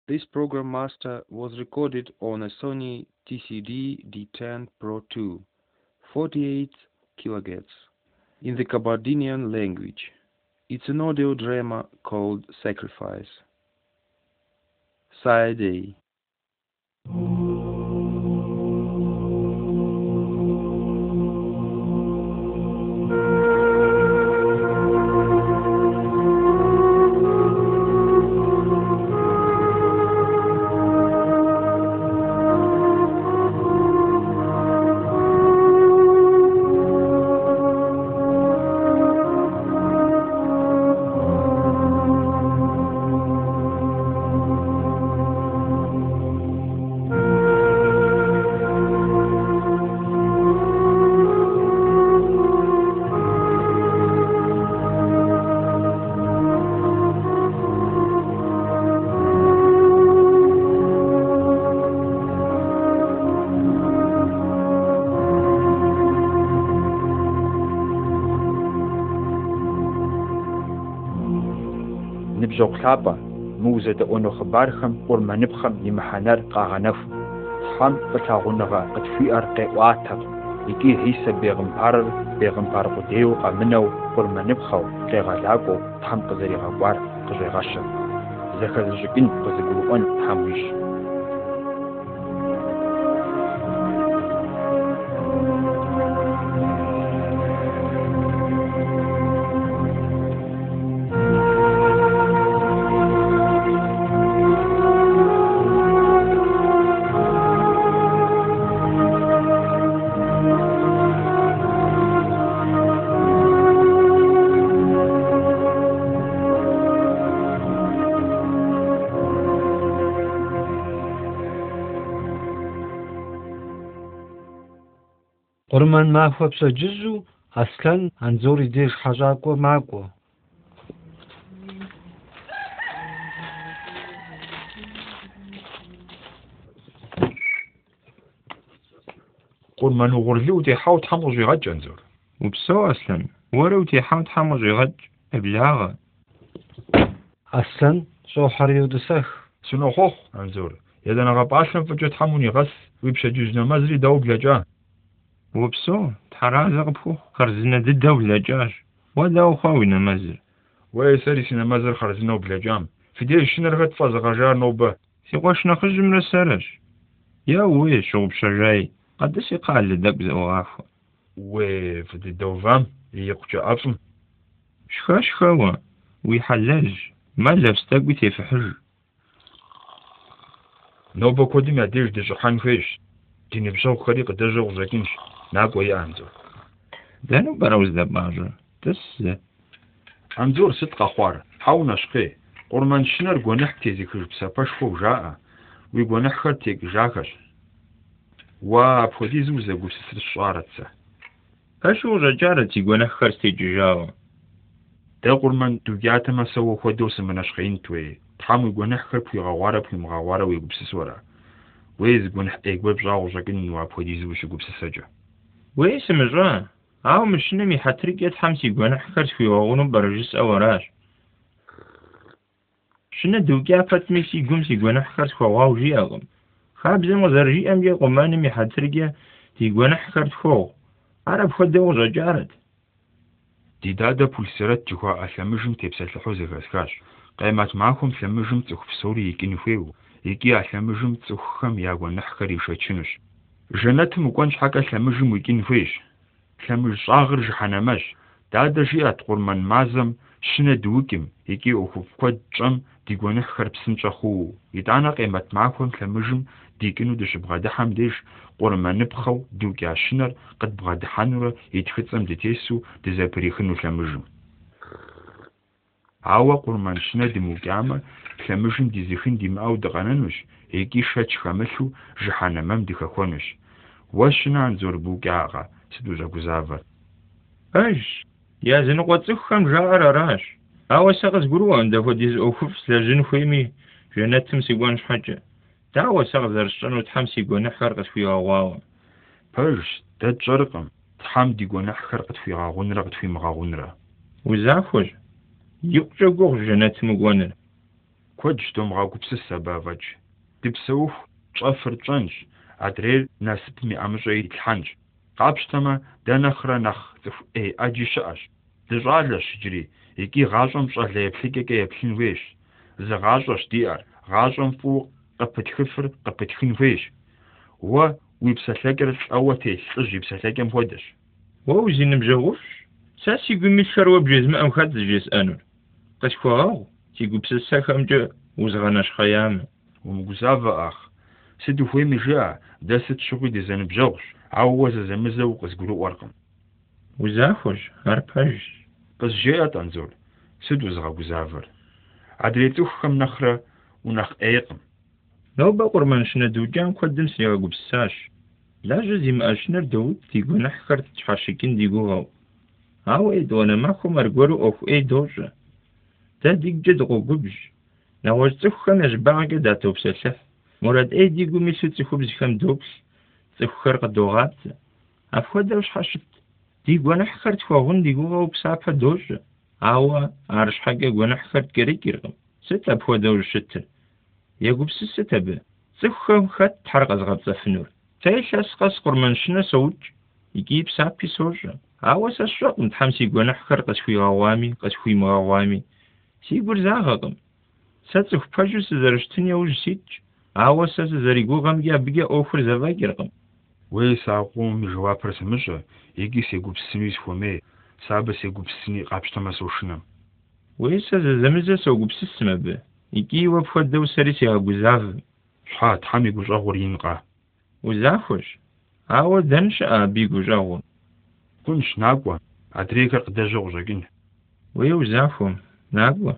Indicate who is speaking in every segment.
Speaker 1: This Program Master was recorded on a Sony TCD D10 Pro 2, 48 kHz, in the Kabardinian language. It's an audio drama called Sacrifice. Side A.
Speaker 2: نبجو خلابا موزة دقونو خبارخم ورمانبخم يمحانر قاغنف تحام فتاغونغا قد في أرقي واتق يكي هيسا بيغم بارقو ديو قامنو ورمانبخو قيغالاقو تحام قزري غاقوار قزري غاشر زخر زجقين قزقلوان تحامويش
Speaker 3: قرمان ماخوة بسجزو أصلا أنزوري ديش حاجاكو ماكو
Speaker 2: قرمان وغرلو تيحاو تحمو جيغاج أنزور
Speaker 4: وبسو أصلا ورو تيحاو تحمو جيغاج أبلاغة
Speaker 3: أصلا شو حريو دسخ
Speaker 2: سنو خوخ أنزور يدنا غاباشن فجو تحموني غس ويبشا جوزنا مزري داو بلاجان
Speaker 4: وبسو تحرازة غبخو خرزنا ددا وبلاجاج وداو خاوينا مزر
Speaker 2: ويساري سينا مزر خرزنا وبلاجام في ديش شنرغت فاز غجار نوبه
Speaker 4: سيقواش نخرج من السرج يا وي شغب شجاي قدس يقال لدك زواف
Speaker 2: وي في الدوفام يقجا أفم
Speaker 4: شخوا ويحلج ما لبستك بتفحج
Speaker 2: نوبه كودي ما ديش ديش حنفيش ديني بشو خريق دجا وزاكينش ناقو يا أنزور
Speaker 4: دانو براوز دباجر تس
Speaker 2: أنزور صدق أخوار حاونا شقي قرمان شنر قونح تيزي كربسا باشفو جاء ويقونح خرتيك جاكش وابخدي زوزة قوسس الشعارتسا
Speaker 4: أشو رجارتي قونح خرتي جاوا
Speaker 2: دا قرمان دوجاتا ما سوى خدوس من أشقين توي تحامو يقونح خرب يغوارا بمغوارا ويقبسس ورا ويز قونح ايقوى بجاو جاكين وابخدي زوزة قوسس جا
Speaker 4: ويس مجران أو مش نمي حتريك يتحمسي قونح خرت في وغنو برجس أوراش شنو دوجا فتميسي قمسي قونح خرت خواو جي أغم خاب زي مزرجي أم يقوم ما نمي حتريك تي قونح خرت خو عرب خدو رجارت
Speaker 2: دي دادا بولسيرات جوا أثمجم تبسل لحوزة غسكاش قيمات معكم ثمجم تخف سوري يكينو فيو يكي أثمجم تخخم ياغو نحكر يشتشنش جنات مقوانش حكا ثمجم ويكينو فيش ثمج صاغر جحنماش دادا جيات قرمان مازم شنا دوكم يكي أخف قد جم ديقو نحكر بسنشا خو يدانا قيمات معكم ثمجم ديكينو دش بغادحام ديش قرمان نبخو دوكي عشنر قد بغادحانورا يتخطم ديتيسو دزابريخنو ثمجم عاوا قرمان شنا دي موكامة ثمجم دي زيخين دي ماو دغانانوش يكي شاتش خامسو جحنمام دي خاخونوش واشنا عنزور بوكاغا سدوزا قزافر
Speaker 4: أش يا زين قوتسخم جار راش أو ساقس قروان دفو ديز أوفف سلاجين خويمي جنات تمسي قوانش حاجة دعوة ساقس درشتانو تحمسي قوان خرقت في غواوا
Speaker 2: برش داد جرقم تحام دي قوان خرقت في غاغون رقت في مغاغون را
Speaker 4: وزافوج يقجا قوغ جنات مقوانر
Speaker 2: كوج دوم غاقوبسس أبافج دبسوف شافر تشانج أدرير ناسب مي أمجي الحنج قابشتما دانخرا نخ إيه أجي شاش دجالش جري يكي غاجم شال يبليك يبلين ويش زغاجش ديار غاجم فوق قبت خفر قبت خين ويش و ويبسلاجر أوتي سجي بسلاجم ودش
Speaker 4: ووزين مجوش ساسي قمي الشروب بجزم أم خد جيس أنور قشفاو تيقو بسسا خمجة وزغناش خيام
Speaker 2: ومجزافة أخ سدو فوي مجاع داست شغل دي زن بجوش عوز زمزو قزقلو ورقم
Speaker 4: وزافوش هرباج
Speaker 2: بس جاءت أنزول سدو زغا وزافر عدريتوخ خم نخرة ونخ أيقم
Speaker 4: لو بقر منشنا دوجان قدم سياقو بساش لا جزي ما أشنر دود تيقو نحكر تشحاشكين ديقو غاو هاو ايدوانا ماكو مرقورو أوف اي دوجة تا ديق جدغو قبج نواجتوخ خم يجباعك داتو بسلح مراد اي ديقو ميسو تيخو بزخم دوبس تيخو خرق دوغات أفوا دوش حاشت ديقو نحكر تخوغن ديقو غاو بسابها دوجة هاو عارش حاجة قو نحكر كريك يرغم ست أفوا دوش شتر يقو بسستة به تيخو خد تحرق أزغب زفنور تايش أسقس قرمانشنا سوج يجيب سابي سوجة عاوز الشوق متحمسي قو نحكر قسوي غوامي قسوي مغوامي سيقول زاغغم ساتسوخ باجو سزرشتنيا وجسيج عاوز سزريقو غمجا بيجا أوفر زواجرغم
Speaker 2: ويساقوم جواب رسمجة يجي سيقو بسنويس فومي سابا سيقو بسني قابشتما سوشنم
Speaker 4: ويسا زمزة سوقو بسسما به يجي وبخد دو سريسي غاقو زاف
Speaker 2: شحات حامي قو جاغور ينقا
Speaker 4: وزافوش عاوز دنش بيقو جاغور
Speaker 2: كنش ناقوة أدريكر قدا جوغجاقين
Speaker 4: ويو زافهم ناقوة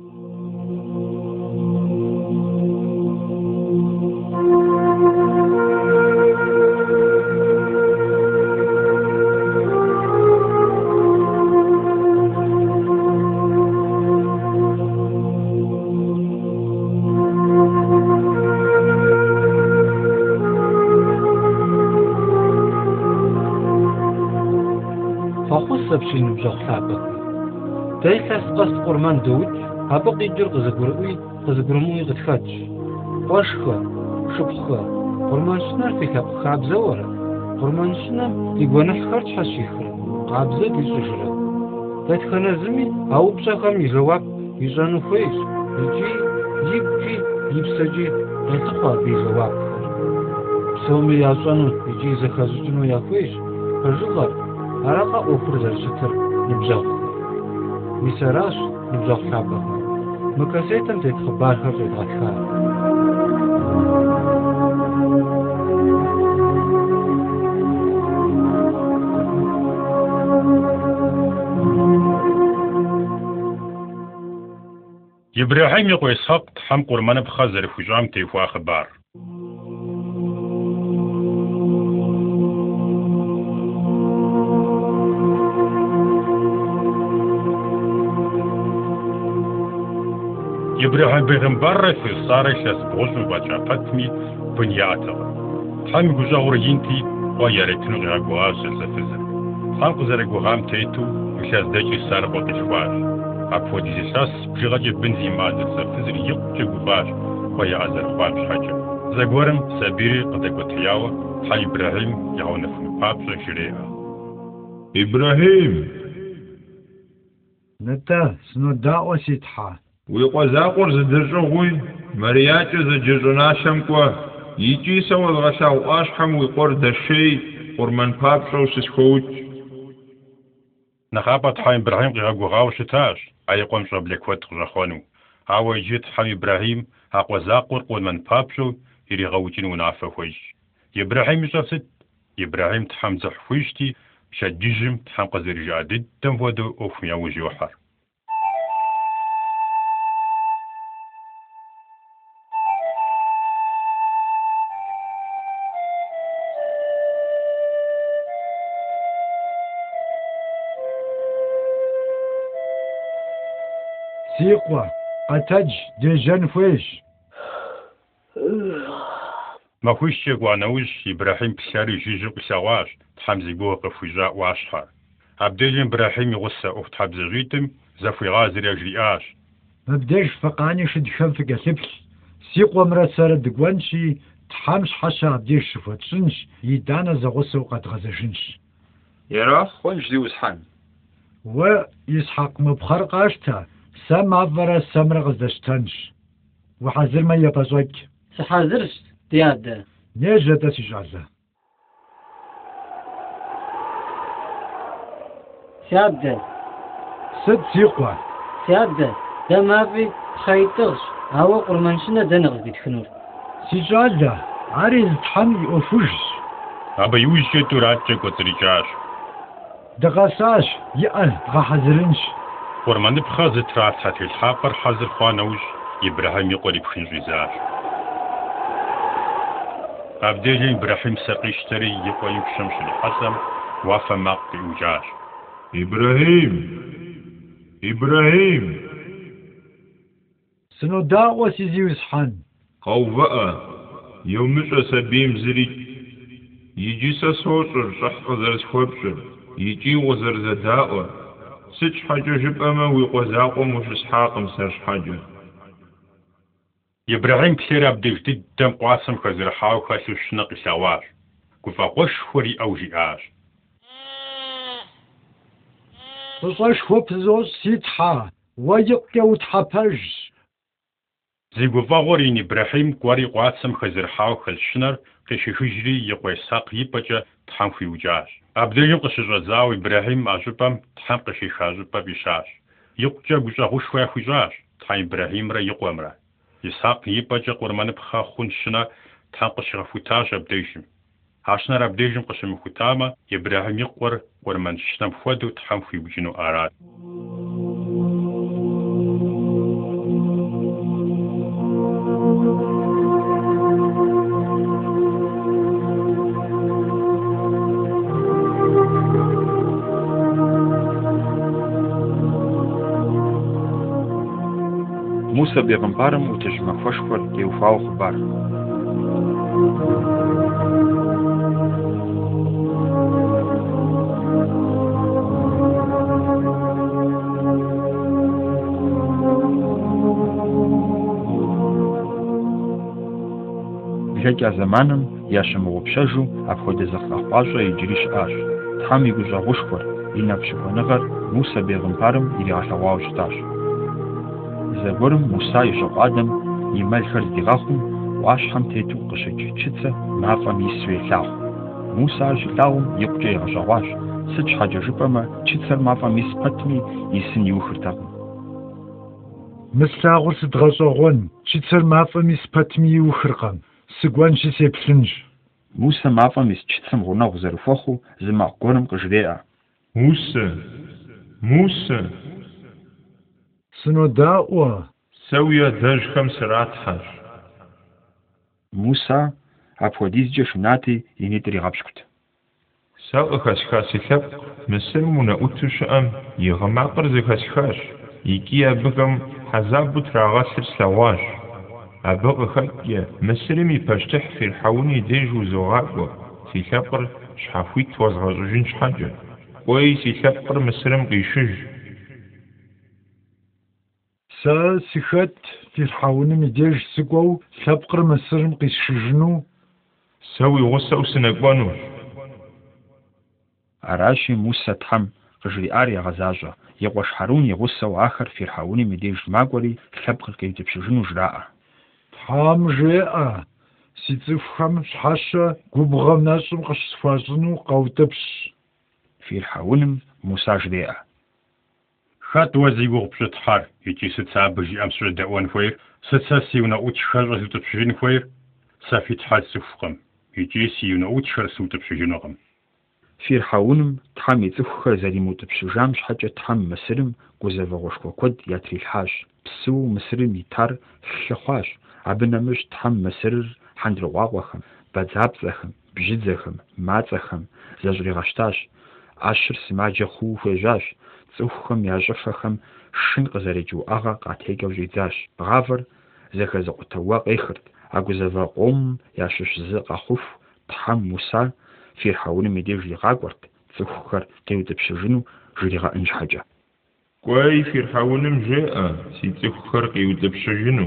Speaker 3: بشين بجوخ ثابت تايساس قصد قرمان دوج هابق يجر قزقرموي غتخاتش واشخا شبخا قرمان شنر في كاب خاب زورا قرمان شنر يقوانا حخارج حشيخرا قابزة بيسوشرا تايتخانا زمي هاو بشاخام يجواب يجانو فيش يجي يبسجي غتخوا بيجواب سومي ياسوانو يجي زخازوشنو يافيش فجغر عرقا أوفر زرشتر نبزاق مساراش نبزاق حابا مكاسيتم تتخبار خرجت غتخار
Speaker 5: إبراهيم يقوي إسحاق تحم قرمان بخزر فجام تيفوا خبار إبراهيم بيغمبر في صارش أسبوع وبجابتمي بنياته تحم جوجور ينتي ويارتنو غاغواش الزفزر خلق زرق وغام تيتو مشاز داجي سار بوتشواش أبو ديزيساس بجغاجي بنزيمات الزفزر يقجي باش ويا أزر باش حاجة زغورم سابيري قدق وتياوة حي إبراهيم يعون في بابس شريعة
Speaker 4: إبراهيم
Speaker 3: نتا سنو داوة سيتحا
Speaker 4: ويقوزاقور زدرجوغوي مرياتو زجرناشمكوا يجي سوى الغشاو أشحم ويقور دشي قرمان بابشو سسكوت
Speaker 5: نخابت حي إبراهيم غاغو غاوشتاش أيقوم شبلك واتق جخوانو هاو يجيت حي إبراهيم هاقوزاقور قرمان بابشو يري غاوتين ونعفا خويش إبراهيم شافت إبراهيم تحم زحفويشتي شجيجم تحم قزر جادد تنفودو أوفميا وجوحر
Speaker 3: سيقوى أتج ديجان فيش
Speaker 5: ما خوش يقوانوش إبراهيم بساري جيجو بساواش تحمزي بوق فجاء واشحر عبدالين إبراهيم يغسى أفت حبز غيتم زفي غازر يجري آش
Speaker 3: مبدأش فقاني شد شنفك أسبل سيقوى مرسالة دقوانشي تحامش حشا عبديش شفتشنش يدانا زغسو قد غزشنش
Speaker 2: يرى خونش دي وسحان
Speaker 3: ويسحق مبخرق أشتا سام عبرا سامر غزشتنش وحذر ما يبزوك
Speaker 6: سحاذرش ديادة
Speaker 3: نيجا داسي جعزة
Speaker 6: سيادة
Speaker 3: سد سيقوى
Speaker 6: سيادة ده ما في خيطغش هوا قرمانشنا دنغز بيتخنور
Speaker 3: سيجالة عاري التحم يوفوش
Speaker 5: أبا يوجد توراتك وتريجاش
Speaker 3: دغاساش يأل غحذرنش
Speaker 5: ورمان بخاز ترات حتى الحافر حذر خوانوش إبراهيم يقول بخين غزاش أبدي إبراهيم سقيشتري يقول يكشمش الحسم وافا ماقي وجاش
Speaker 4: إبراهيم
Speaker 3: سنو داقوة سيزي وسحان
Speaker 4: قوة يومش أسابيم زري يجي ساسوشر شح غزرز خوبشر يجي وزر زداء سج حاجة جبأما ويقوزاقو مش اسحاقم سرش حاجة
Speaker 5: إبراهيم بسير أبدي جديد دم قاسم خزر حاو خاسو الشنق سواش كفا قش خوري أو جياش
Speaker 3: تصاش خوب زوز سيتحا ويقيا وتحبج
Speaker 5: زي قفا غورين إبراهيم قواري قاسم خزر حاو خلشنر قشي هجري يقوي ساق يبجا تحم في وجاش أبدي يقش الرزاو إبراهيم أجبام تحم قشي خاجبا بشاش يقجا قجا غش ويا خجاش تحم إبراهيم را يقوى مرا يساق يبجا قرمان بخا خونشنا تحم قشي غفوتاج أبديشم هاشنا را أبديشم قشي مخوتاما إبراهيم يقور قرمان شنم فودو تحم في وجنو آراد
Speaker 2: موسى بيغمبارم وتجمع فشفر يوفاو خبار جاكا زمانم ياشم وبشجو أبخد زخلاقاشا يجريش آش تحامي قجا غشفر ينفشفو نغر موسى بيغمبارم يلي غشواو شتاش زبورم موسى يشوق آدم يمال خرز دغاخم واشحم تيتو قشج تشتسة مافم يسوي لاخ موسى جلاهم يقجي غشواش سج حاجة جبما تشتسة مافم يسقطمي يسن يوخرتاهم
Speaker 3: مسلاغر سدغشغون تشتسر مافم يسبتمي وخرقم سقوان شي سيبسنج
Speaker 2: موسى مافم يستشتسم غناغ زرفوخو زما قرم قجريئة
Speaker 4: موسى
Speaker 3: سنو داقوة
Speaker 4: سويا داج خمس راتحاش
Speaker 2: موسى أبوديز جشناتي ينيتري غابشكت
Speaker 4: ساق خاسخاسي ثب مسلمونا أوتوش أم يغمع قرز خاسخاش يكي أبغم حزاب تراغاسر سواش أبغ خلقيا مسلمي باشتح في الحوني ديجو زغاقو سي ثبر شحافوي توزغاجوجين شحاجة وي سي ثبر مسلم قيشج
Speaker 3: سا سيخت في الحاونة مديج سقو سابقر مسرم قيس شجنو
Speaker 4: سوي غصة سنقوانوش
Speaker 2: أراشي موسى تحم قجري آريا غزاجة يقوش حارون يغصة وآخر في الحاونة مديج ماقوري سابقر كي تبشجنو جراء
Speaker 3: تحام جاء سيتفخم شحاشة قبغم ناشم قش سفاجنو قوتبش
Speaker 2: في الحاونة موسى جديئة
Speaker 5: خات وزيغو بشتحار يجي ستسا بجي أمسر دعوان فوير ستسا سيونا أوتشخر زوت بشجين فوير سافي تحال سفقم يجي سيونا أوتشخر سوت بشجينوغم
Speaker 2: في الحاونة تحام يتفخر زالي موت بشجامش حاجة تحام مسرم قوزا وغشكو كود ياتري الحاج بسو مسرم يتار شخواش عبنا مش تحام مسرر حندر واغوخم بادزاب زخم بجد زخم مات زخم زاجري غشتاش عشر سماجة خو فجاش تسوخم ياجفخم شن قزرجو أغا قاتيجو جيداش غافر زخ زقتواق إخرت أجوزا قوم ياشش زق خوف تحم موسى في حول مدير جي غاقورت تسوخر قيود بشجنو جريغا إنج حاجة
Speaker 4: كوي فرحونم جاء سيتسخ خرقي وتبشجنو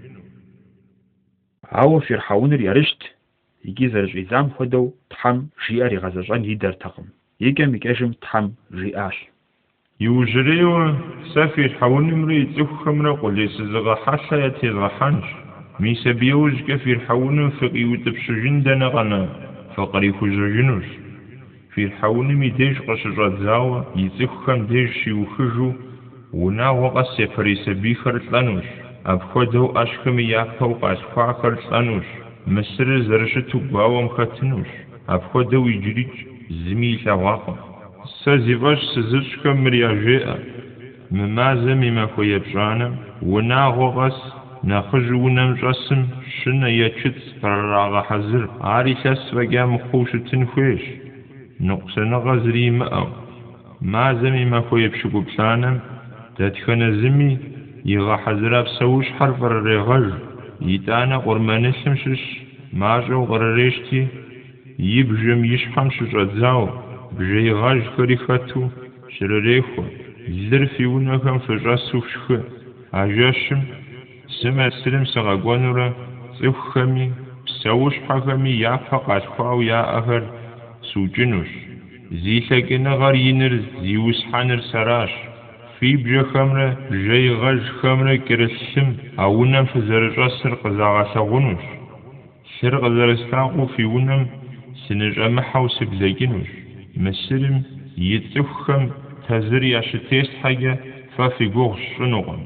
Speaker 2: عاو فرحون يرشت يجي زرج إزام خدو تحم جياري غزجان يدر تقم يجم يكاجم تحم جياش
Speaker 4: يوجريو سافر حونم ري تسخ خمرا قولي سزغا حاشا يتزغا حانش ميسا بيوج كفير حونم فقي وتبشجن دنغنا فقري خججنوش في حونم يديش قشجات زاوة يتسخ خم ديش يوخجو ونا وقس يفري سبي خرطلانوش أبخدو أشخم يافو قاسخوا خرطلانوش مصر زرشتو باوم خطنوش أبخدو يجريج زميل واقم سازيفاش سزرشكم مرياجئة ممازم ما خويا بجانم ونا وقس ناخجو نمجسم شنا يتشت فراغ حزر عاريساس وقام خوش تنخويش نقصنا غزري مأو مازم ما خويا بشكو بسانم تدخن زمي يغا حزر بسوش حرف الرغج يتانا قرمانسم شش ماجو غرريشتي يبجم يشحم شجازاو بجي غاج خريفتو شرريخو زرفي ونكم فجاسو فشخ عجاشم سمع سلم سغاقوانورا صفخمي بسوش حخمي يافا قاشخواو يا أهر سوجنوش زيثاقنا غار ينر زيوس حانر سراش في بجا خمرة جاي غاج خمرة كرسم أونم فزرجا سرق زاغاساغونوش سرق زرستاغو في ونم سنجا محاوس بلاجنوش مسلم يتفخم تزري عشتيست حاجة ففي قوغ شنوغن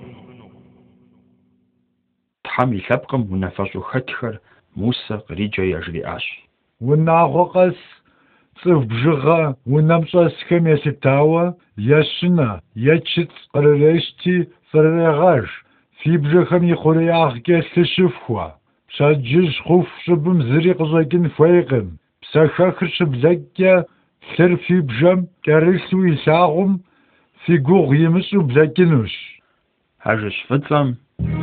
Speaker 2: تحم يثبقم ونفجو خطخر موسى قريجا يجري آش
Speaker 3: وناغوقس صف بجغة ونمشاسكم يستاوى يشنا يتشت قرريشتي فرغاج في بجخم يخورياغ كيستشفوا بساجج خوف شبم زريق زاكن فايقم بساخاخر شبزاكيا سر في بجم كاريسو يساغم في قوغ يمسو بزاكنوش
Speaker 2: هاجش فتلم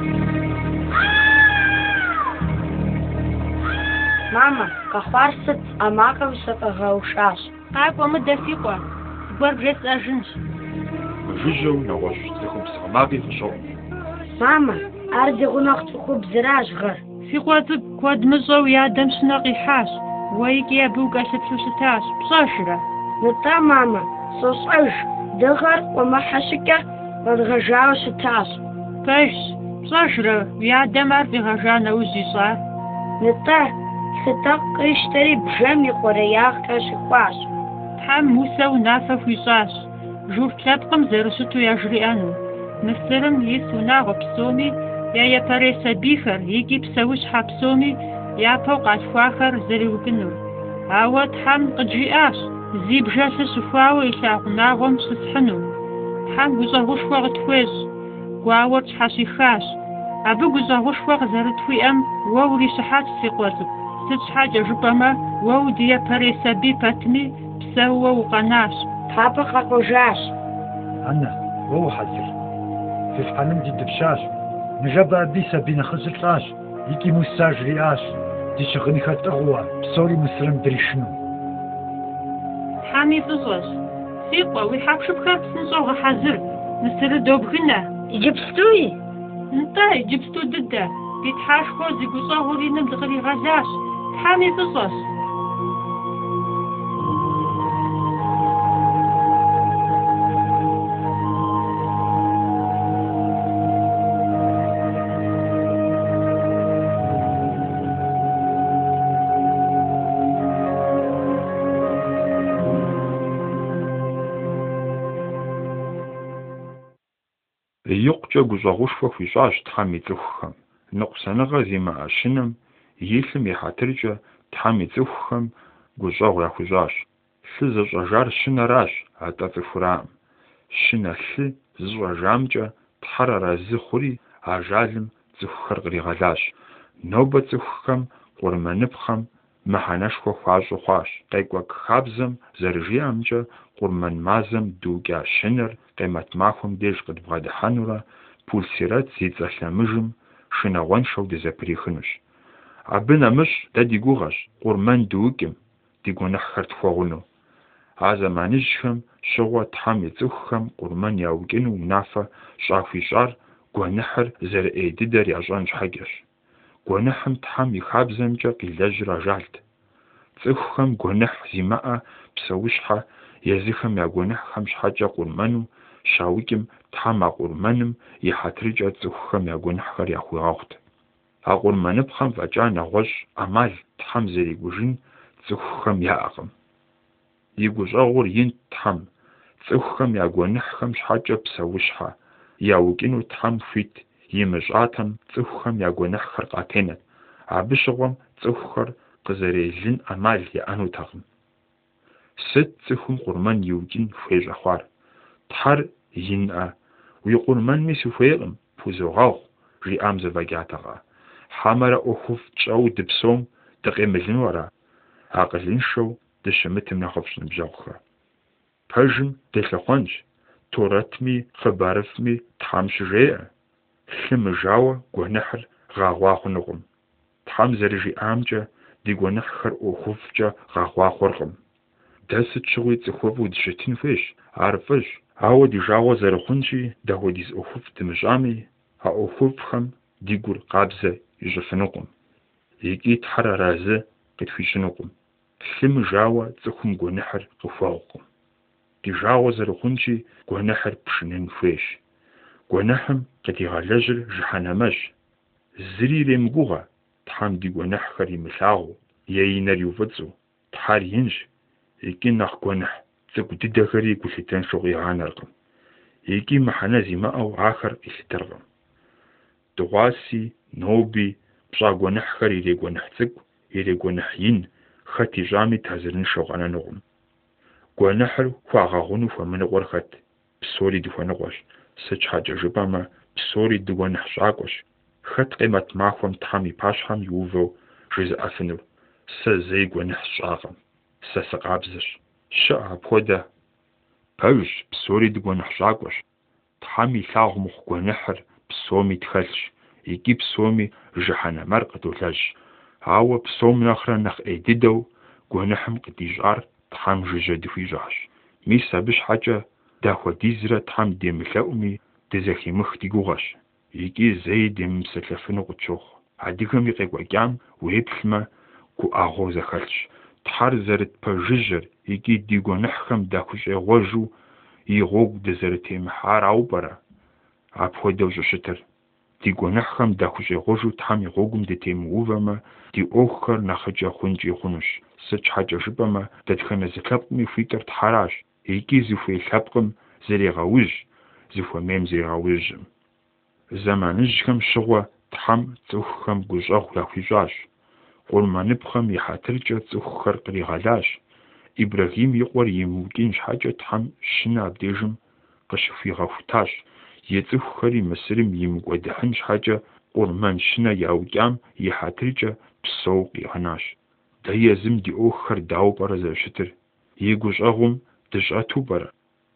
Speaker 7: ماما كخبارست أماكا وسطغاوشاش
Speaker 8: قايب ومدفيقوا قبر بريس أجنش
Speaker 2: جوجو نواش تخم سغماغي فشو
Speaker 7: ماما أردي غناختكو بزراج غر
Speaker 8: في قواتك كواد مزو يا دم سناقي حاش ويك يا بوكا سبسوستاش بصاشرة
Speaker 7: نتا ماما صوصعش دغر وما حشكة ودغجاو ستاش
Speaker 8: كيش بصاشرة يا دم عرفي غجانا وزي صار
Speaker 7: نتا ستاق يشتري بجمي قرياغ كاشقواش
Speaker 8: تحم موسى ونافا فيصاش جور تلابقم زرسوتو يجري أنو مثلم يسونا غبسومي يا باريسا بيخر يجي بسوش حبسومي يا فوق عشفاخر زري وكنور عاوة تحم قجياش زي بجاسة سفاوة يساقناغم سسحنو تحم وزاغوش وغت فوز وعاوة تحاسيخاش أبو وزاغوش وغ زرتوي أم ووري سحات سيقواتك ست حاجة جبما وودي باريسا بي باتمي بسوا وقناش
Speaker 7: طابق قجاش
Speaker 3: أنا وهو حذر في فحنم دي دبشاش نجابا بيسا بينا خزرتاش يكي مساج رياش دي شغني خطغوا بصوري مسلم دريشنو
Speaker 8: حامي فزوز سيقوا ويحاكشو بخارت سنزوغ حذر نسر دوبغنا
Speaker 7: جبستوي
Speaker 8: انتاي جبستو ددا بيتحاش خوزي قصاغوري نمدغري غزاش حامي فزوز
Speaker 2: يقجا قزاغوشفا فيصاش تحمي تلوخهم نقصنغا زيما أشنم يلم يحاترجا تحمي تلوخهم قزاغ يخزاش سزج أجار شنا راش عطاف فرام شنا زوا جامجا تحرر زخوري عجالم زخر غريغلاش نوبة زخكم قرمانبخم محانشخو خواجو خواش قيقوك خابزم زرجيامجا قرمان مازم دوغا شنر قيمت ماخم ديش قد بغاد حانورا بولسيرات زيت زحلامجم شنا وانشو دي زبريخنوش عبنا مش دا ديگوغاش قرمان دوغم ديگو نحخرت فوغنو азэманыжьхэм щыгъуэ Тхьэм и цӏыхухэм къурмэн яукӏыну унафэ щӏахуищӏар гуэныхьыр зэрыӏей дыдэр ящӏэн щхьэкӏэщ. Гуэныхьым Тхьэм и хабзэмкӏэ къилэжьыр ажалт. Цӏыхухэм гуэныхь зимыӏэ псэущхьэ езыхэм я гуэныхьхэм щхьэкӏэ къурмэну щаукӏым Тхьэм а къурмэным и хьэтыркӏэ цӏыхухэм я гуэныхьхэр яхуигъэхъут. А къурмэныпхъэм фӏэкӏа нэгъуэщӏ ӏэмал Тхьэм зэригужын цӏыхухэм яӏэкъым. И гущӏэгъур инт Тхьэм, цӏыхухэм я гуэныхьхэм щхьэкӏэ псэущхьэ яукӏыну Тхьэм хуит имыщӏатэм цӏыхухэм я гуэныхьхэр къатенэт, абы щыгъуэм цӏыхухэр къызэрелын ӏэмал яӏэнутэкъым. Сыт цӏыхум къурмэн иукӏын хуей щӏэхъуар? Тхьэр инӏэ, уи къурмэнми сыхуейкъым, пхузогъэгъу, жиӏам зэфӏэкӏатэкъэ. Хьэмэрэ ӏуэхуфӏ тщӏэу дыпсэум дыкъемылыну ара? Акъылыншэу дыщымытым нэхъыфӏщ ныбжьэгъухэр. Пэжым делъыхъуэнщ, Торэтми хъыбарыфми Тхьэм щыжеӏэ. Лъы мыжауэ гуэныхьыр гъэгъуа хъунукъым. Тхьэм зэрыжиӏамкӏэ ди гуэныхьхэр ӏуэхуфӏкӏэ гъэгъуа хъуркъым. Дэ сыт щыгъуи цӏыхуфӏу дыщытын хуейщ, ар фӏыщ. Ауэ ди жагъуэ зэрыхъунщи, дапхуэдиз ӏуэхуфӏ дымыщӏами, а ӏуэхуфӏхэм ди гур къабзэ ищӏыфынукъым. Икӏи Тхьэр аразы къытхуищӏынукъым. Лъы мыжауэ цӏыхум гуэныхьыр къыхуэгъукъым. Ди жагъуэ зэрыхъунщи, гуэныхьыр пшынын хуейщ. Гуэныхьым къыдигъэлэжьыр жыхьэнэмэщ. Зыри иремыгугъэ Тхьэм ди гуэныхьхэр имылъагъуу е и нэр иуфӏыцӏу. Тхьэр инщ, икӏи нэхъ гуэныхь цӏыкӏу дыдэхэри гу лъытэну къигъанэркъым. Икӏи мыхьэнэ зимыӏэу ахэр къилъытэркъым. Дыгъуаси, ноби, пщӏа гуэныхьхэр ирегуэныхь цӏыкӏу, ирегуэныхь ин, хэт ищӏами тазырыншэу къэнэнукъым. Гуэныхьыр хуагъэгъуну хуэмыныкъуэр хэт? Псори дыхуэныкъуэщ. Сыт щхьэкӏэ жыпӏэмэ, псори дыгуэныхь щӏакӏуэщ. Хэт къемэт махуэм Тхьэм и пащхьэм иувэу жызыӏэфынур? Сэ зэи гуэныхь сщӏакъым. Сэ сыкъабзэщ. Щыӏэ апхуэдэ. Пэжщ, псори дыгуэныхь щӏакӏуэщ. Тхьэм и лъагъу мыхъу гуэныхьыр псоми тхэлъщ, икӏи псоми жыхьэнэмэр къыдолэжь. Ауэ псом нэхърэ нэхъ ӏей дыдэу гуэныхьым къыдищӏар Тхьэм жыжьэ дыхуищӏащ. Мис абы щхьэкӏэ дахуэдизрэ Тхьэм демылъэӏуми, дызэхимых ди гугъэщ. Икӏи зэи демымысэлъэфыну къытщохъу. Адыгэм и къекӏуэкӏам уеплъмэ, гуӏэгъуэу зэхэлъщ. Тхьэр зэрытпэжыжьэр икӏи ди гуэныхьхэм дахущӏегъуэжу и гъуэгу дызэрытемыхьар ауэ пӏэрэ апхуэдэу щыщытыр? Ди гуэныхьхэм дахущӏегъуэжу Тхьэм и гъуэгум дытемыувэмэ, ди ӏуэхухэр нэхъыкӏэ хъункӏи хъунущ. Сыт щхьэкӏэ жыпӏэмэ, дэтхэнэ зы лъэпкъми хуитӏыр Тхьэращ. Икӏи зыхуей лъэпкъым зрегъэуж, зыхуэмейм зрегъэужьым. Зэманыжьхэм щыгъуэ Тхьэм цӏыхухэм гущӏэгъу яхуищӏащ. Къурмэныпхъэм и хьэтыркӏэ цӏыхухэр къригъэлащ. Ибрахим и къуэр имыукӏын щхьэкӏэ Тхьэм щынэ абдежым къыщыхуигъэхутащ. И цӏыхухэри Мысырым имыкӏуэдыхьын щхьэкӏэ къурмэн щынэ яукӏам и хьэтыркӏэ псэу къигъэнащ. Дэ езым ди ӏуэхухэр дауэ пӏэрэ зэрыщытыр? И гущӏэгъум дыщӏэту пӏэрэ?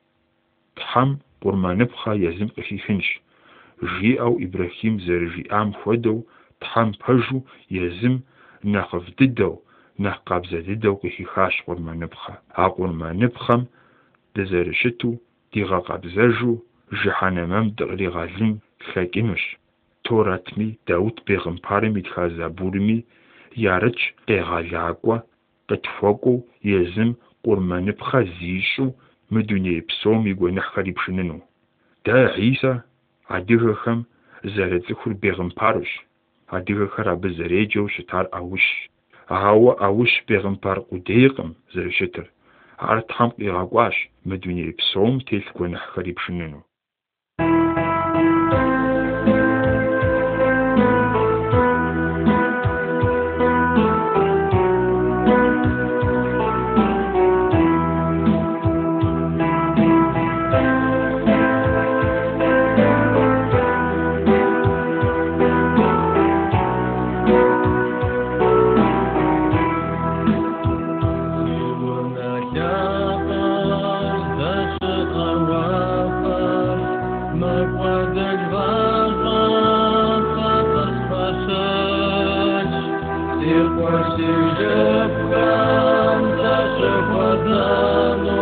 Speaker 2: Тхьэм къурмэныпхъэ езым къыхихынщ. Жиӏэу Ибрахим зэрыжиӏам хуэдэу, Тхьэм пэжу езым нэхъыфӏ дыдэу, нэхъ къабзэ дыдэу къыхихащ къурмэныпхъэ. А къурмэныпхъэм дызэрыщыту дигъэкъэбзэжу жыхьэнэмэм дыкъригъэлын лъэкӏынущ. Торэтми, Даут Бегъымпарым итха Забурми ярыч къегъэлакӏуэ, къытхуэкӏуэу езым къурмэныпхъэ зищӏу мы дуней псом и гуэныхьхэр ипшыныну. Дэ Исэ адыгэхэм зэрыцӏыхур Бегъымпарущ. Адыгэхэр абы зэреджэу щытар ӏэущ. Ауэ ӏэущ Бегъымпар къудейкъым зэрыщытыр. Ар Тхьэм къигъэкӏуащ мы дуней псом телъ гуэныхьхэр ипшыныну.
Speaker 9: Сирквасижепкам зашепадано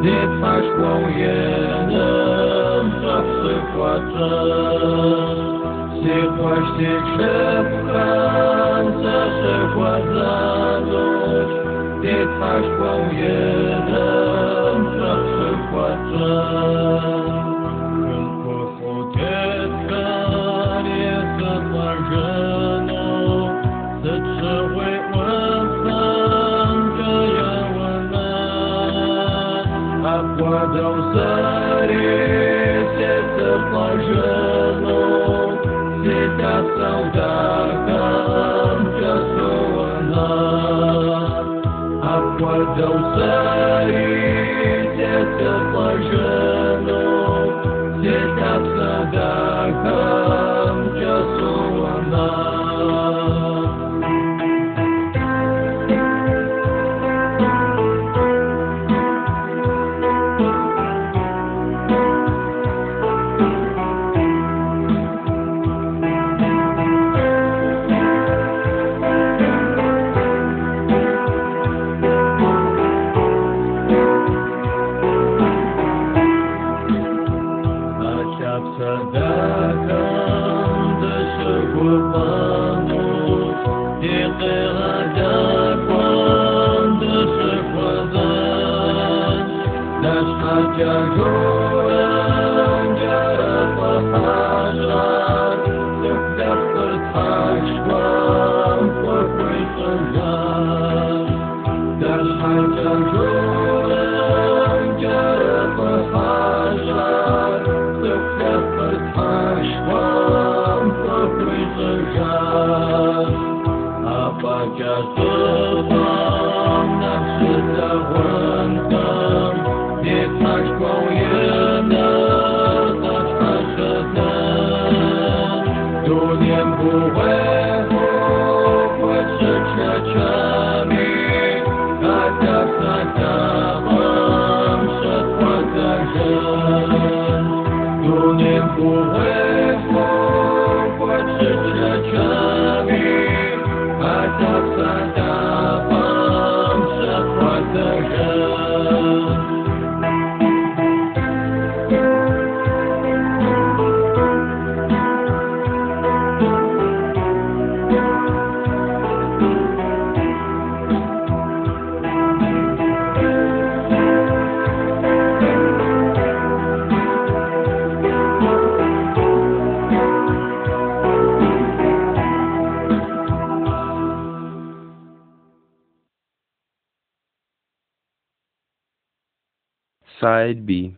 Speaker 1: Side B.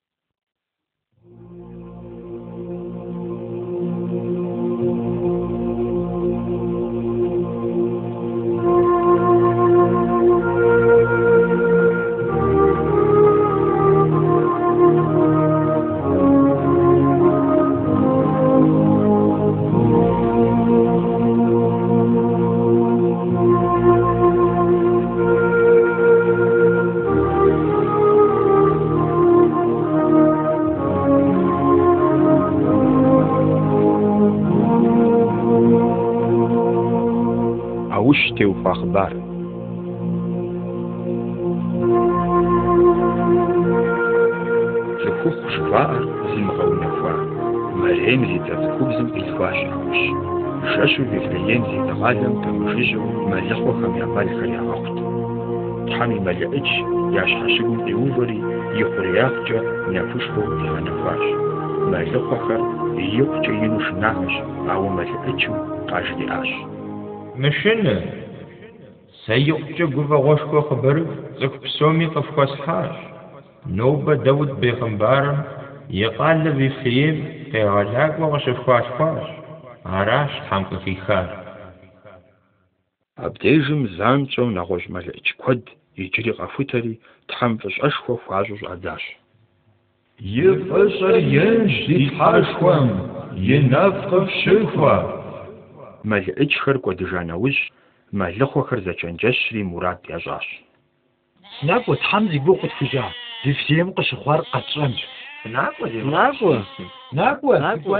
Speaker 2: وش أخبار زكوخ شفاء زمغو نفوا مريم زي تذكوبزم إلفاش عوش شاشو بفليين زي تغالم بمجيجو مليخو خم يعمال خريا وقت تحامي مليئج ياش حاشقون إيوفري يخرياخجا نفوشكو إلى نفاش مليخو خر يوكجا ينوش ناهش أو مليئجو قاجدي آش
Speaker 4: مشن سيقجا قرفا غوشكو خبر زك بسومي قفقاس حاش نوبة داود بيغمبارم يقال بفليم قيغلاق وغشف خاش عراش حمق في خار
Speaker 2: أبديجم زامتو نغوش ملئج كود يجري غفوتري تحمفش أشخو فعجوش أداش
Speaker 9: يفشر ينش يتحاشخوام ينافق بشخوا
Speaker 2: ملئج خر قدجانوش ملخو خر زجنجشري مراد يجاش
Speaker 3: ناقو تحمزي بوقت فجاه دفسيم قشخوار قطرمش ناقو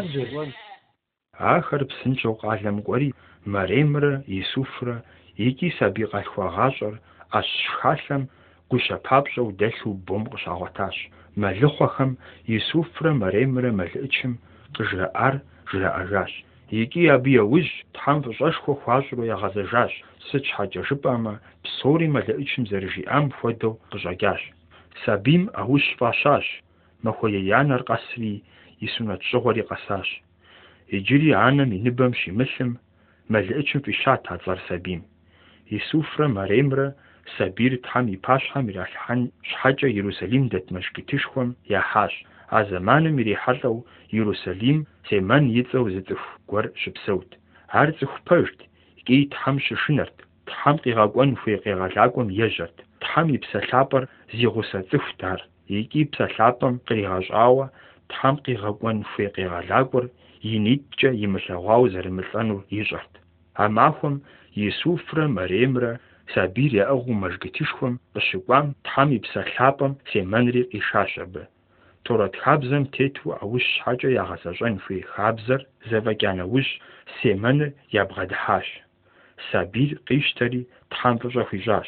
Speaker 2: آخر بسنجو قالم قوري مريمر يسوفر يكي سابي قالخوا غاشر أشخالم гущэпапщӏэу дэлъу бом къыщагъуэтащ. Мэлыхъуэхэм Исуфрэ Мэремрэ мэлыӏыкӏым къыжраӏар жраӏэжащ. Икӏи абы яужь Тхьэм фӏыщӏэшхуэ хуащӏурэ ягъэзэжащ. Сыт щхьэкӏэ жыпӏэмэ, псори мэлыӏыкӏым зэрыжиӏам хуэдэу къыщӏэкӏащ. Сабийм ӏэужь фӏащащ. Махуэ янэр къэсри и сунэт щӏыгъуэри къэсащ. Иджыри анэм и ныбэм щимылъым, мэлыӏыкӏым фӏищат а цӏэр сабийм. Исуфрэ Мэремрэ сабийр Тхьэм и пащхьэм иралъхьэн щхьэкӏэ Иерусалим дэт мэжгытышхуэм яхьащ. А зэманым ирихьэлӏэу Иерусалим Семэн и цӏэу зы цӏыху гуэр щыпсэут. Ар цӏыху пэжт, икӏи Тхьэм щышынэрт, Тхьэм къигъэкӏуэн хуей къегъэлакӏуэм ежьэрт. Тхьэм и псэлъапӏэр зи гъусэ цӏыхут ар, икӏи псэлъапӏэм къригъэщӏауэ Тхьэм къигъэкӏуэн хуей къегъэлакӏуэр и нитӏкӏэ имылъэгъуауэ зэрымылӏэнур ищӏэрт. А махуэм Исуфрэ Мэремрэ сабийр яӏыгъыу мэжгытышхуэм къыщыкӏуам Тхьэм и псэлъапӏэм Семэнри къишащ абы. Торэт хабзэм тету ӏэужь щхьэкӏэ ягъэзэщӏэн хуей хабзэр зэфӏэкӏа нэужь Семэныр ябгъэдыхьащ. Сабийр къищтэри Тхьэм фӏыщӏэ хуищӏащ.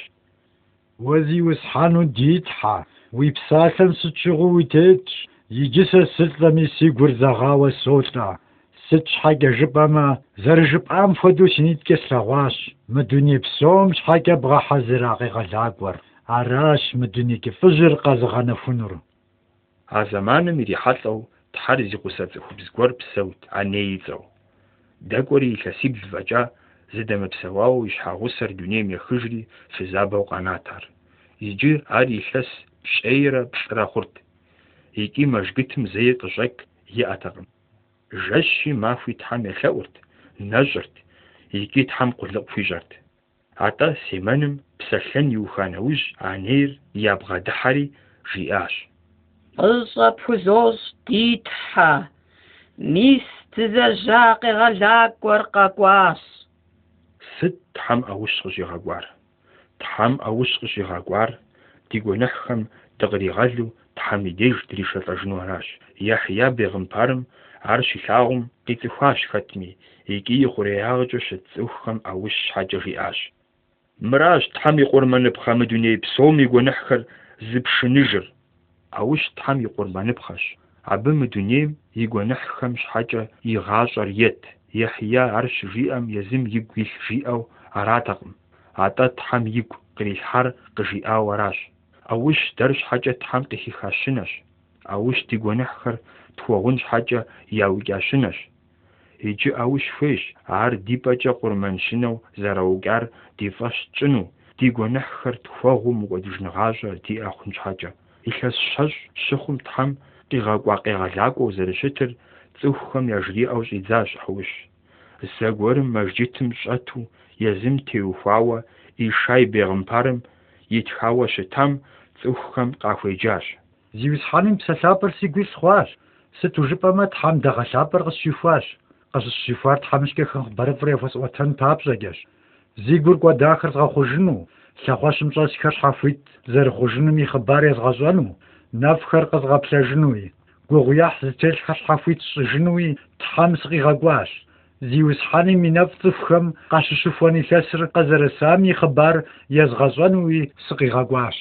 Speaker 3: Уэ зиусхьэну ди Тхьэ, уи псалъэм сыт щыгъуи уитетщ, иджы сэ сылӏэми си гур зэгъауэ солӏэ. Сыт щхьэкӏэ жыпӏэмэ, зэрыжыпӏам хуэдэу си нитӏкӏэ слъэгъуащ. Мы дуней псом щхьэкӏэ бгъэхьэзыра къегъэлакӏуэр. Аращ мы дуней кӏыфӏыжьыр къэзыгъэнэхунур.
Speaker 2: А зэманым ирихьэлӏэу Тхьэр зи гъусэ цӏыхубз гуэр псэут, аней ицӏэу. Дэкӏуэри илъэсибл фӏэкӏа зыдэмыпсэуауэ и щхьэгъусэр дунейм ехыжри фызабэу къэнат ар. Иджы ар илъэс пщӏейрэ плӏырэ хъурт. Икӏи мэжгытым зэи къыщӏэк иӏэтэкъым. Жэщи махуи Тхьэм елъэӏурт, нэщӏырт, икӏи Тхьэм къулыкъу хуищӏэрт. Атӏэ Семэным псэлъэн иуха нэужь анейр ябгъэдыхьэри жиӏащ.
Speaker 6: ФӀыщӀэ пхузощӀ ди Тхьэ, мис дызэжьа къегъэлакӀуэр къэкӀуащ.
Speaker 2: Сыт Тхьэм ӏэущ къыщигъэкӏуар? Тхьэм ӏэущ къыщигъэкӏуар ди гуэныхьхэм дыкъригъэлу Тхьэм и деж дришэлӏэжыну аращ. Яхья бегъымпэрым ар щилъагъум къицӏыхуащ хэтми, икӏи и хъуреягъкӏэ щыт цӏыхухэм ӏэущ щхьэкӏэ жиӏащ. Мыращ Тхьэм и къурмэныпхъэ мы дуней псом и гуэныхьхэр зыпшыныжыр. ӏэущ Тхьэм и къурмэныпхъэщ. Абы мы дунейм и гуэныхьхэм щхьэкӏэ игъащӏэр ет. Яхья ар щыжиӏэм езым игу илъ жиӏэу аратэкъым. Атӏэ Тхьэм игу кърилъхьэр къыжиӏауэ аращ. ӏэущ дэр щхьэкӏэ Тхьэм къыхиха щынэщ. ӏэущ ди гуэныхьхэр тхуэгъун щхьэкӏэ яукӏа щынэщ. Иджы ӏэущ хуейщ ар ди пӏэкӏэ къурмэншынэу зэраукӏар ди фӏэщ тщӏыну, ди гуэныхьхэр тхуэгъуу мыкӏуэдыжныгъащӏэ диӏэ хъун щхьэкӏэ. Илъэс щэщӏ щыхъум Тхьэм къигъэкӏуа къегъэлакӏуэу зэрыщытыр цӏыхухэм яжриӏэу щӏидзащ ӏэущ. Зэгуэрым мэжджытым щӏэту езым теухуауэ Ишай бегъымпэрым итхауэ щытам цӏыхухэм къахуеджащ.
Speaker 3: Зиусхьэным псэлъапӏэр сигу илъ хъуащ. Сыту жыпӏэмэ Тхьэм дэгъэлъапӏэр къысщихуащ. Къыщысщихуар Тхьэмыщкӏэхэм хъыбарыфӏрэ яхуэсӏуэтэн папщӏэкӏэщ. Зи гур кӏуэдахэр згъэхъужыну, лъэхъуэщым щӏэсхэр щхьэхуит зэрыхъужынуми хъыбар езгъэщӏэну, нэфхэр къызгъэплъэжынуи, гугъуехь зытелъхэр щхьэхуит сщӏыжынуи Тхьэм сыкъигъэкӏуащ. Зиусхьэным и нэфӏ цӏыхухэм къащыщыхуэн илъэсыр къэзэрысами хъыбар езгъэщӏэнуи сыкъигъэкӏуащ.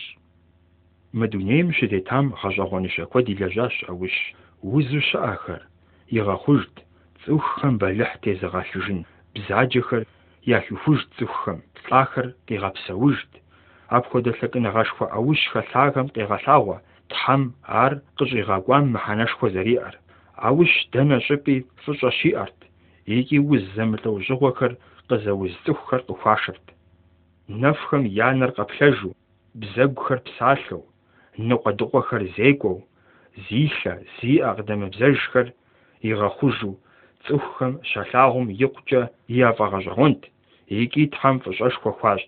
Speaker 2: Мы дунейм щытетам гъэщӏэгъуэныщэ куэд илэжьащ ӏэущ. Узу щыӏэхэр игъэхъужт, цӏыхухэм бэлыхь тезыгъэлъыжын, бзаджэхэр яхихужт цӏыхухэм, лӏахэр къигъэпсэужт. Апхуэдэ лъэкӏыныгъэшхуэ ӏэущ хэлъагэм къегъэлъагъуэ Тхьэм ар къыщӏигъэкӏуам мыхьэнэшхуэ зэриӏэр. ӏэущ дэнэ щӏыпӏи фӏыщӏэ щиӏэрт, икӏи уз зэмылӏэужьыгъуэхэр къызэуз цӏыхухэр къыхуашэрт. Нэфхэм я нэр къэплъэжу, бзэгухэр псалъэу, ныкъуэдыкъуэхэр зекӏуэу, зилъэ, зиӏэ къыдэмыбзэжхэр игъэхъужу цӏыхухэм щалъагъум икъукӏэ яфӏэгъэщӏэгъуэнт, икӏи Тхьэм фӏыщӏэшхуэ хуащӏт.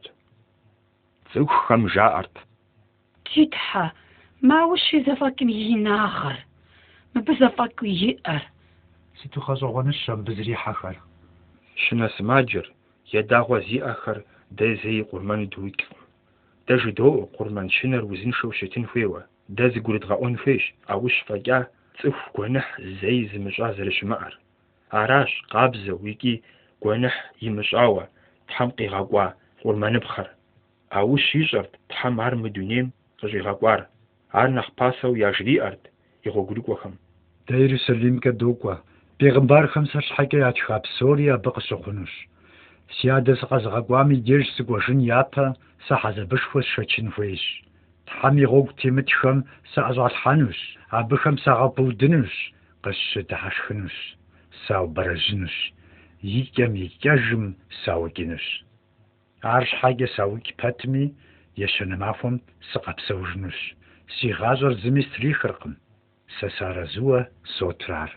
Speaker 2: Цӏыхухэм жаӏэрт:
Speaker 7: Ди Тхьэ, маущи зэфӏэкӏым и нагъэр, мыбы зэфӏэкӏу иӏэр.
Speaker 3: Сыту гъэщӏэгъуэныщэ мыбы зрихьэхэр.
Speaker 2: Щынэ сымаджэр, едагъуэ зиӏэхэр дэ зэи къурмэну дыуикӏкъым. Дэ жыдоӏуэ къурмэн щынэр узыншэу щытын хуейуэ. Дэ зыгурыдгъэӏуэн хуейщ ӏэущ фӏэкӏа цӏыху гуэныхь зэи зымыщӏа зэрыщымыӏэр. Аращ къабзэу икӏи гуэныхь имыщӏауэ Тхьэм къигъэкӏуа къурмэныпхъэр. ӏэущ ищӏэрт Тхьэм ар мы дунейм къыщӀигъэкӀуар. Ар нэхъ пасэу яжриӀэрт игъуэгурыкӀуэхэм.
Speaker 3: Дэ Иерусалимкэ докӀуэ. Пегъымбархэм сэр щхьэкӀэ ятха псори абы къыщыхъунущ. Си адэ сыкъэзыгъэкӀуам и деж сыкӀуэжын япэ сэ хьэзэбышхуэ сшэчын хуейщ. Тхьэм и гъуэгу темытхэм сыӀэщӀалъхьэнущ, абыхэм сагъэпудынущ, къысщыдыхьэшхынущ, саубэрэжьынущ, и кӀэм и кӀэжым сауӀукӀынущ. Ар щхьэкӀэ сауӀук пэтми, ещанэ махуэм сыкъэпсэужынущ. Си гъащӀэр зыми стрихыркъым. Сэ сарэзыуэ сотрар.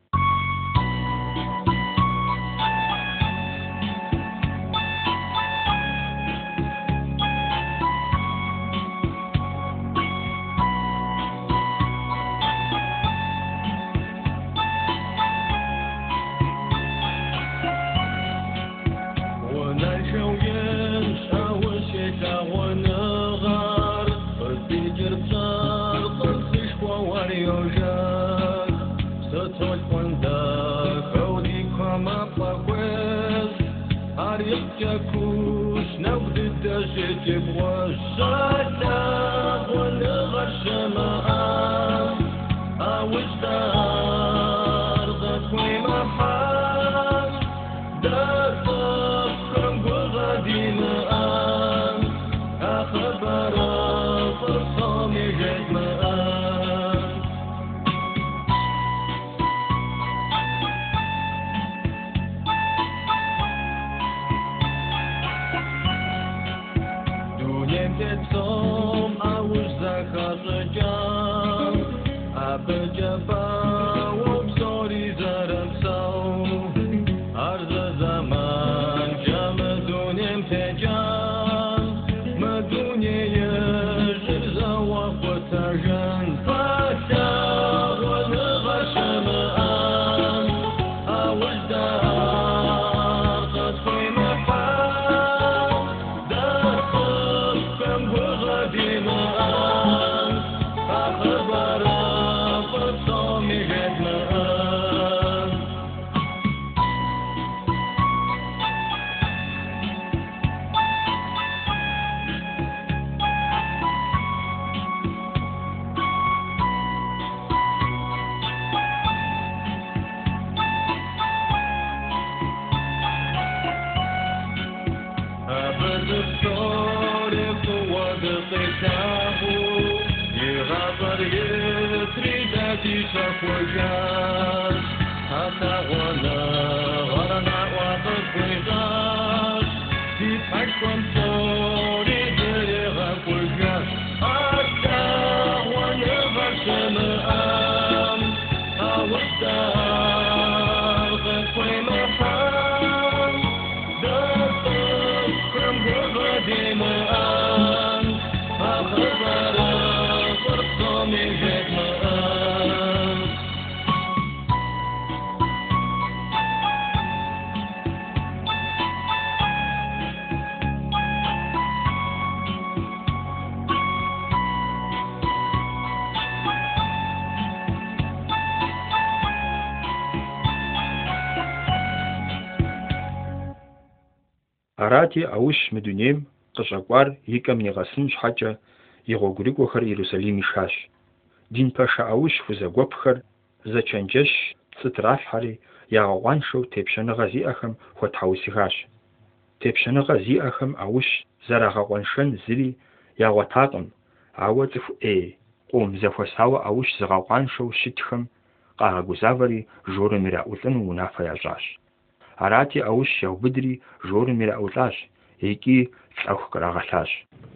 Speaker 2: Арати Аущ мы дунейм къыщӀэкӀуар и кӀэм игъэсын щхьэкӀэ и гъуэгурыкӀуэхэр Иерусалим ишащ. Дин пэша Аущ хузэгуэпхэр зэчэнджэщ цы тралъхьэри ягъэгъуаншэу тепщэныгъэ зиӀэхэм хуэтхьэусыхащ. Тепщэныгъэ зиӀэхэм Аущ зэрагъэкъуэншэн зыри ягъуэтакъым, ауэ цӀыху къум зэхуэсауэ Аущ зыгъэкъуаншэу щытхэм къагъэгузавэри жорым ираӀулӀыну унафэ ящӀащ. Арати Аущ яубыдри жорым ираӀулӀащ, икӀи лӀэху кърагъэлъащ.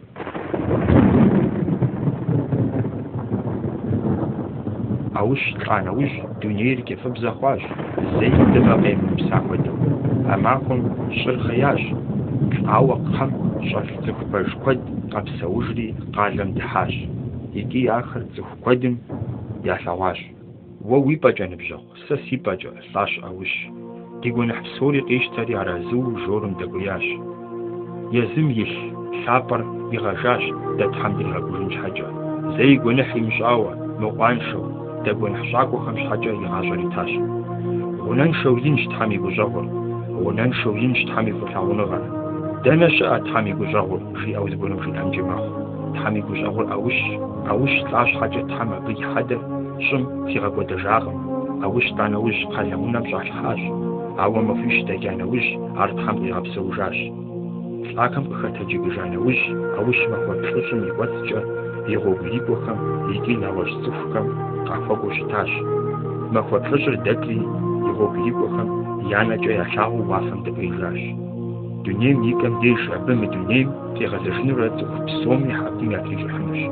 Speaker 2: Аущ лӀа нэужь дунейр кӀыфӀыбзэ хъуащ, зэи дыгъэ къемыпса хуэдэу. А махуэм щӀыр хъеящ, лӀауэ кхъэм щӀэлъ цӀыху пэж куэд къэпсэужри къалэм дыхьащ, икӀи ахэр цӀыху куэдым ялъэгъуащ. Уэ уи пӀэкӀэ, ныбжьэгъу, сэ си пӀэкӀэ, лӀащ Аущ. Ди гуэныхь псори къищтэри арэзыу жорым дэкӀуиящ. Езым илъ лъапӀэр игъэжащ дэ Тхьэм диригъэгужын щхьэкӀэ. Зэи гуэныхь имыщӀауэ, мыӀуаншэу, дэ гуэныхь щӀакӀуэхэм щхьэкӀэ игъащӀэр итащ. Гъунэншэу инщ Тхьэм и гущӀэгъур, гъунэншэу инщ Тхьэм и фӀылъагъуныгъэр. Дэнэ щыӀэ Тхьэм и гущӀэгъур, жиӀэу зыгуэрым жиӀэнкӀи мэхъу. تحمي جوش أغور أوش تلاش حاجة تحمى بي حدا شم في غبو دجاغم أوش تانوش قلمونا مش حاج أو ما فيش تجانوش عرض حمي غبسو جاش لكن بختجي بجانوش أوش ما هو بشوشم يوتجا يغوبيكوكم يجينا وش صفكم قفقوش تاش ما هو بشوشر دكري يغوبيكوكم يانا جاي شاو واسم دبيجاش دنيم يكم ديش عبم دنيم في غزشن رد بسومي حقين ياتيجي حمش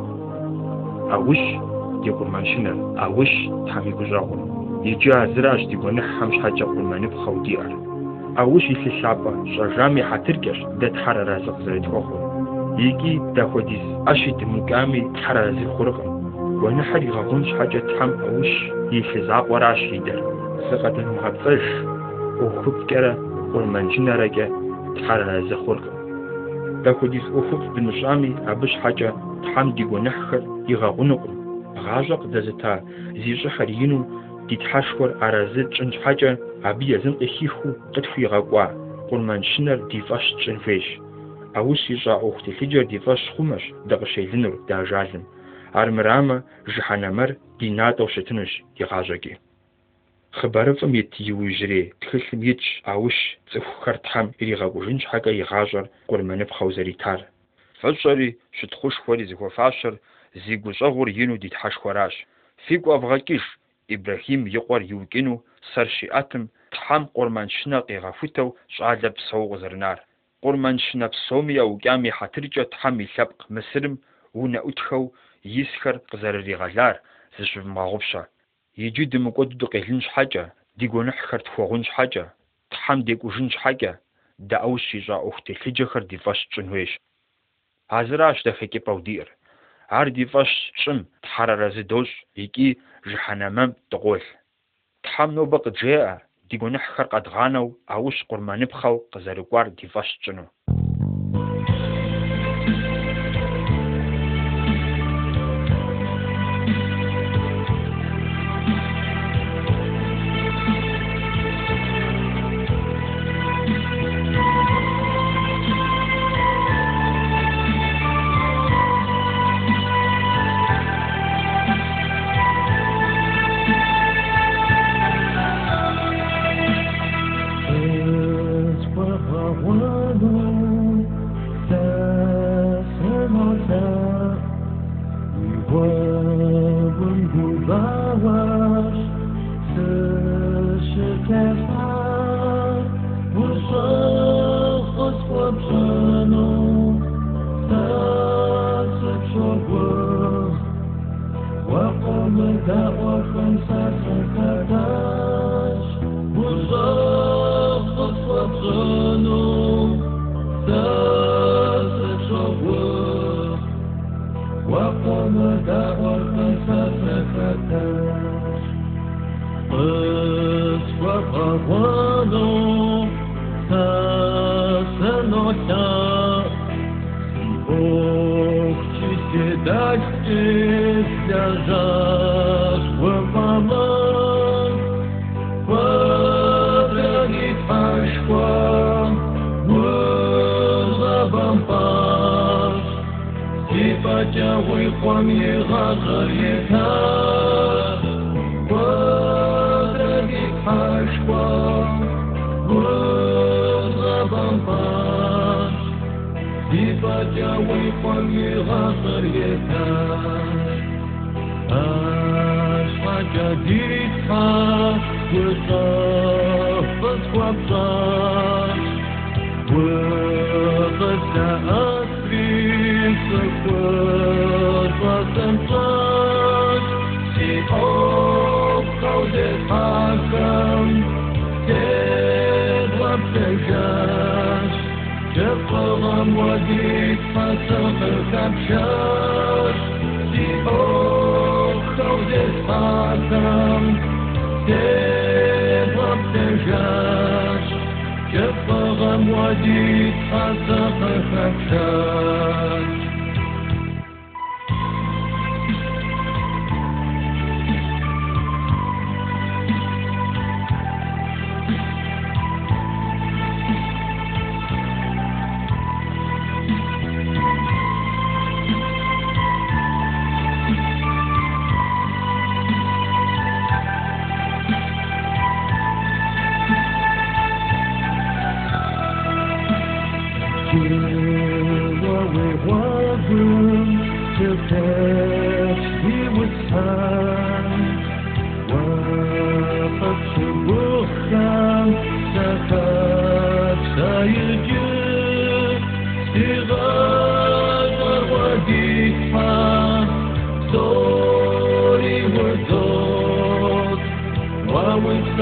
Speaker 2: أوش يقول منشنر أوش تحمي بجاغون يجي عزراش ديقون حمش حاجة قول ما نبخو ديار أوش يسي شعبا شرجامي حتركش دات حرا رازق زرد أخو يجي داخوديز أشيد مقامي حرا رازي خرقم وانا حري غغونش حاجة تحم أوش يسي زعب وراش يدر سقط المغطش وخب كرا والمنشنة رجع تحرر رازي خرقم داخوديز أخب بنشامي أبش حاجة تحم ديقون نحخر يغغونقم غاجق دازتا زيجا حرينو تتحشور أرازت جنج حاجة عبي يزن إخيخو قدفي غاقوا قرمان شنر ديفاش جنفيش أوش يجا أختي حجر ديفاش خمش دغشي لنر دا جازم عرمراما جحانمر ديناتو شتنش يغاجاكي خبارفم يتيو يجري تخلم يتش أوش تفخر تحم إلي غاقو جنج حاجة يغاجر قرمان بخوزري تار فجري شتخوش خوري زيكو فاشر زيقو جغور ينو ديتحاش خوراش فيقو أفغاكيش إبراهيم يقور يوكينو سرشي أتم تحام قرمان شنا قيغافوتو شعال بسو غزرنار قرمان شنا بسومي أو قامي حترجة تحامي لبق مسرم ونا أتخو يسخر قزر ريغالار زشف مغوبشا يجي دمقود دو قيلنش حاجة ديقو نحخر تفوغنش حاجة تحام ديقو جنش حاجة دا أوشي جا أختي خجخر ديفاش جنويش عزراش دا خيكي باودير عردي فاش شم تحرر زدوش يكي جحنمم تقول تحم نوبق جاء ديقو نحخر قد غانو أوش قرمان بخو قزارقوار دي فاش جنو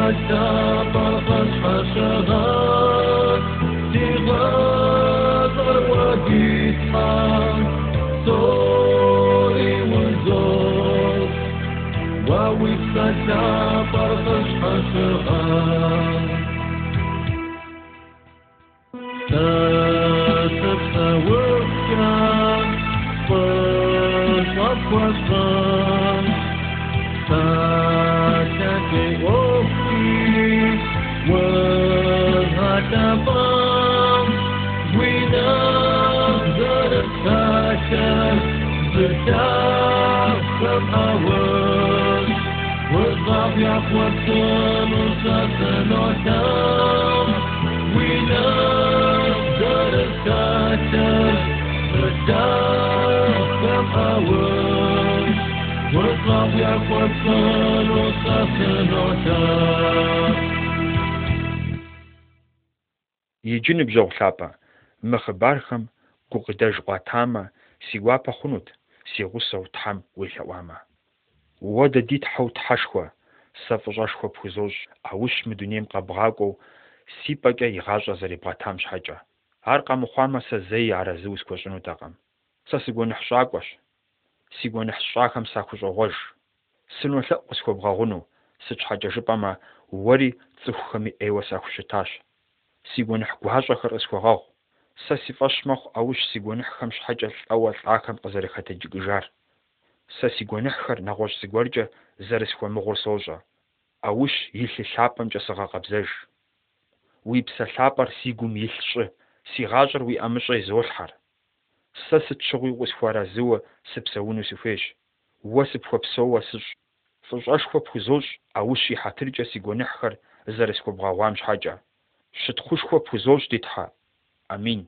Speaker 9: فالشاطر فالحشرات تغادر وتضحك صوري وزور ووفق الشاطر فالحشرات تسبسا وفكا فالصف والصف فاتكي أوكي وهاتفام ونقدر الساكر بتاخم أول والضعف يعقوب وساسن وتام ونقدر الساكر بتاخم أول والضعف يعقوب وساسن وتام
Speaker 2: يجن بزوغ ثابا مخبارخم قوقداج قاتاما سيوابا خنود سيغوصا وتحم ويثواما وودا ديت حوت حشخوا سافجاشخوا بخزوج اوش مدونيم قابغاقو سيباقا يغاجا زري بغاتام شحاجا هارقا مخواما سازي عرازو سكوشنو تاقام ساسيقو نحشاقوش سيقو نحشاقام ساكوش غوش سنو ثقو سكو بغاغونو سجحاجا جباما وري تسوخمي ايوا ساكوشتاش سيقونح قوهاجخر اسكوغاغ ساسي فاشمخ اوش سيقونحخم شحاجة اول عاكم قزاري خاتا جيجار ساسي قونحخر نغوش سيقورجا زارسكوا مغور سوجا اوش يلي ثابم جسغا قبزاج ويبسا ثابر سيقوم يلش سيغاجر وي امشا يزولحر ساسي تشغي وسفوارا زوا سبساونو سفيش واسبخوا بسوا سج فجاشخوا بخزوج اوش يحاترجا سيقونحخر زارسكوا بغاوام شحاجة شتخوش خو بوزوج ديتها امين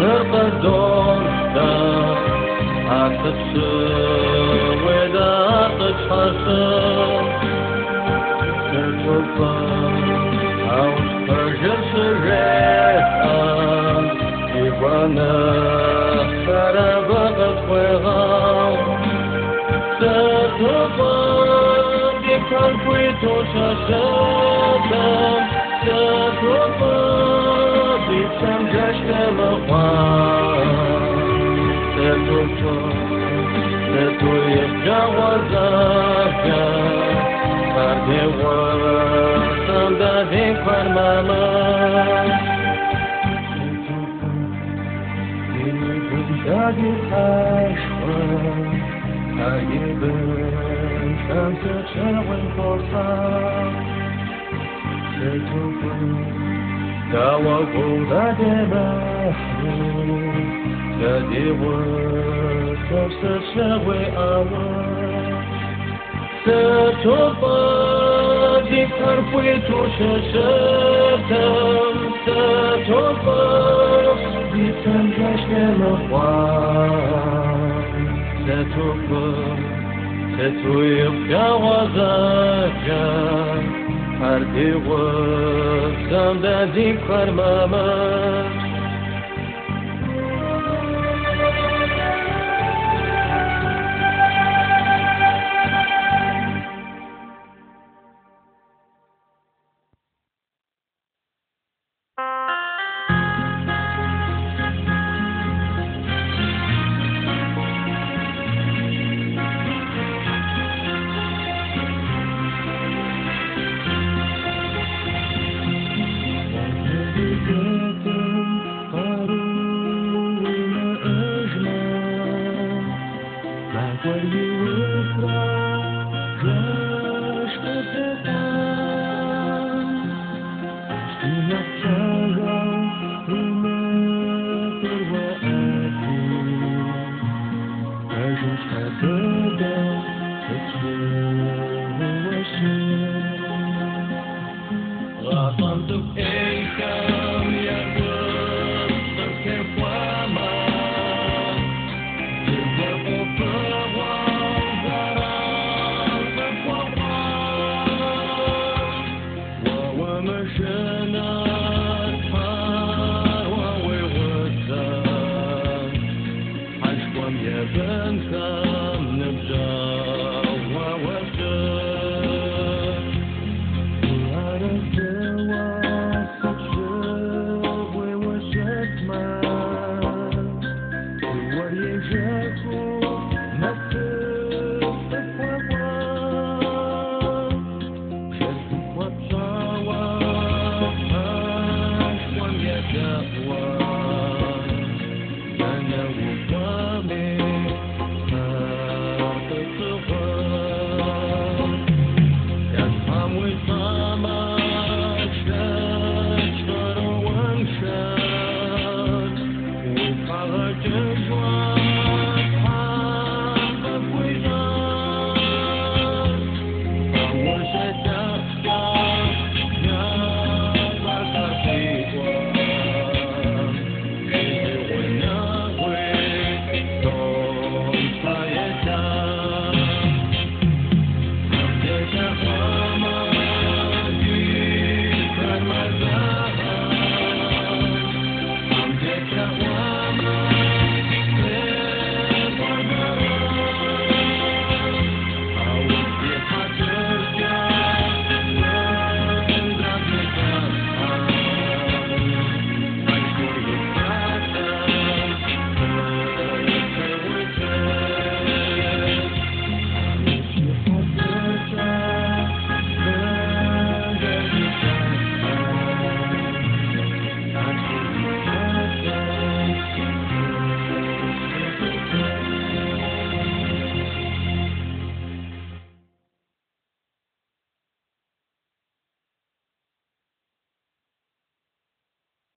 Speaker 9: مرقدون دا أكتشف ودا تشحصل تشوفا أو ترجع سرعة يوانا فرابقت وغام تشوفا بكل كويتو شاشاتا تشوفا بيتم جشن مقام تشوفا تتويق جوازاك فردي وطن دادي فرماما دادي حشوة هايبن شمس تشاوين فرصة تتوفى داوكو دادي محلول دادي وطن تشاوي أول تتوفى ذكر فيتو شاشاتا تتوفى بتنجش للأخوان تتوفى تتويق جوازاكا حردي وقتم دا ذكر ماماك Sure.